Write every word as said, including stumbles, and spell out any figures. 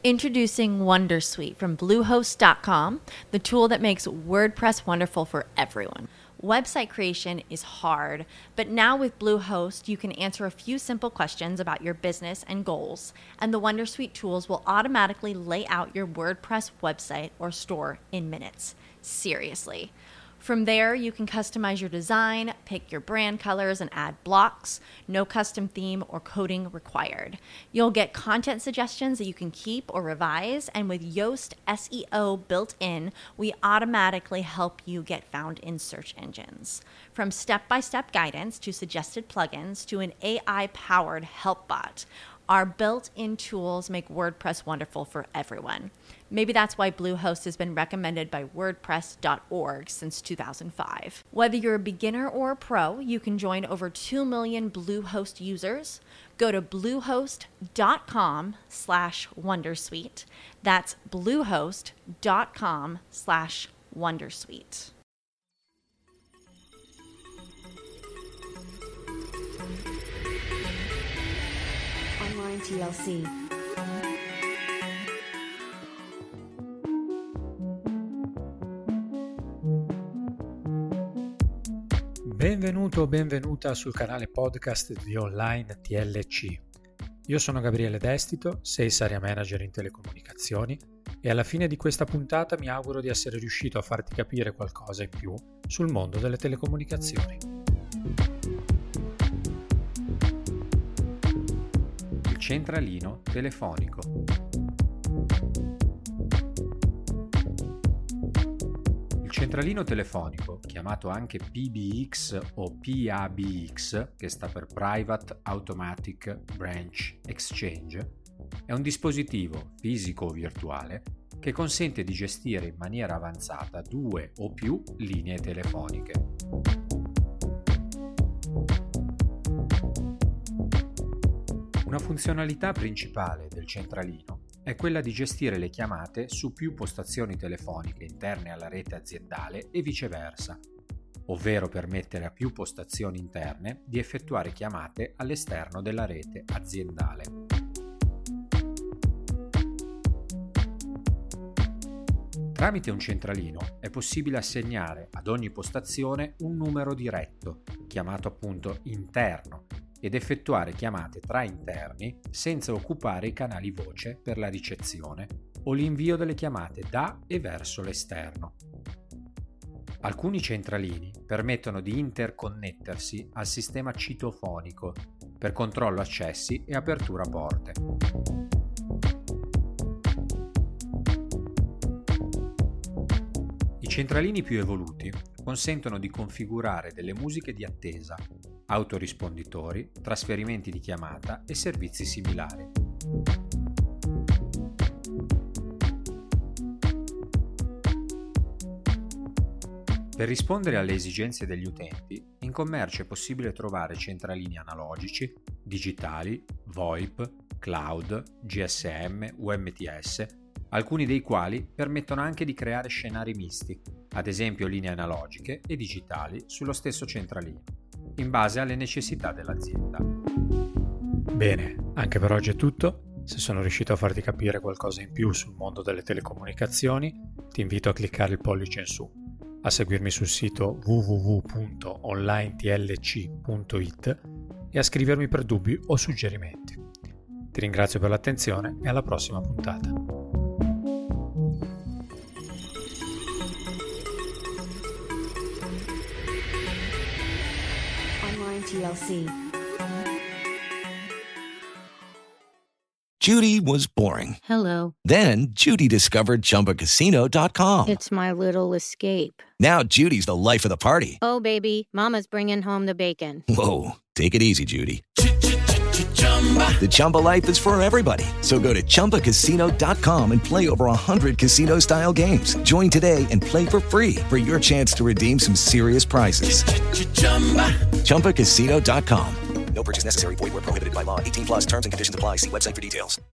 Introducing Wondersuite from Bluehost dot com, the tool that makes WordPress wonderful for everyone. Website creation is hard, but now with Bluehost, you can answer a few simple questions about your business and goals, and the Wondersuite tools will automatically lay out your WordPress website or store in minutes. Seriously. From there, you can customize your design, pick your brand colors, and add blocks. No custom theme or coding required. You'll get content suggestions that you can keep or revise, and with Yoast S E O built in, we automatically help you get found in search engines. From step-by-step guidance to suggested plugins to an A I-powered help bot, our built-in tools make WordPress wonderful for everyone. Maybe that's why Bluehost has been recommended by WordPress dot org since two thousand five. Whether you're a beginner or a pro, you can join over two million Bluehost users. Go to bluehost dot com slash wondersuite. That's bluehost dot com slash wondersuite. Online T L C. Benvenuto o benvenuta sul canale podcast di Online T L C. Io sono Gabriele Destito, Sales Area Manager in telecomunicazioni, e alla fine di questa puntata mi auguro di essere riuscito a farti capire qualcosa in più sul mondo delle telecomunicazioni. Il centralino telefonico. Il centralino telefonico, chiamato anche P B X o P A B X, che sta per Private Automatic Branch Exchange, è un dispositivo fisico o virtuale che consente di gestire in maniera avanzata due o più linee telefoniche. Una funzionalità principale del centralino è quella di gestire le chiamate su più postazioni telefoniche interne alla rete aziendale e viceversa, ovvero permettere a più postazioni interne di effettuare chiamate all'esterno della rete aziendale. Tramite un centralino è possibile assegnare ad ogni postazione un numero diretto, chiamato appunto interno, ed effettuare chiamate tra interni senza occupare i canali voce per la ricezione o l'invio delle chiamate da e verso l'esterno. Alcuni centralini permettono di interconnettersi al sistema citofonico per controllo accessi e apertura porte. I centralini più evoluti consentono di configurare delle musiche di attesa, autorisponditori, trasferimenti di chiamata e servizi similari. Per rispondere alle esigenze degli utenti, in commercio è possibile trovare centralini analogici, digitali, VoIP, cloud, G S M, U M T S, alcuni dei quali permettono anche di creare scenari misti, ad esempio linee analogiche e digitali sullo stesso centralino, in base alle necessità dell'azienda. Bene, anche per oggi è tutto. Se sono riuscito a farti capire qualcosa in più sul mondo delle telecomunicazioni, ti invito a cliccare il pollice in su, a seguirmi sul sito w w w punto online t l c punto i t e a scrivermi per dubbi o suggerimenti. Ti ringrazio per l'attenzione e alla prossima puntata. T L C. Judy was boring. Hello. Then Judy discovered Chumba Casino dot com. It's my little escape. Now Judy's the life of the party. Oh, baby, mama's bringing home the bacon. Whoa, take it easy, Judy. The Chumba life is for everybody. So go to Chumba Casino dot com and play over one hundred casino-style games. Join today and play for free for your chance to redeem some serious prizes. Chumba Casino dot com. No purchase necessary. Void where prohibited by law. eighteen plus terms and conditions apply. See website for details.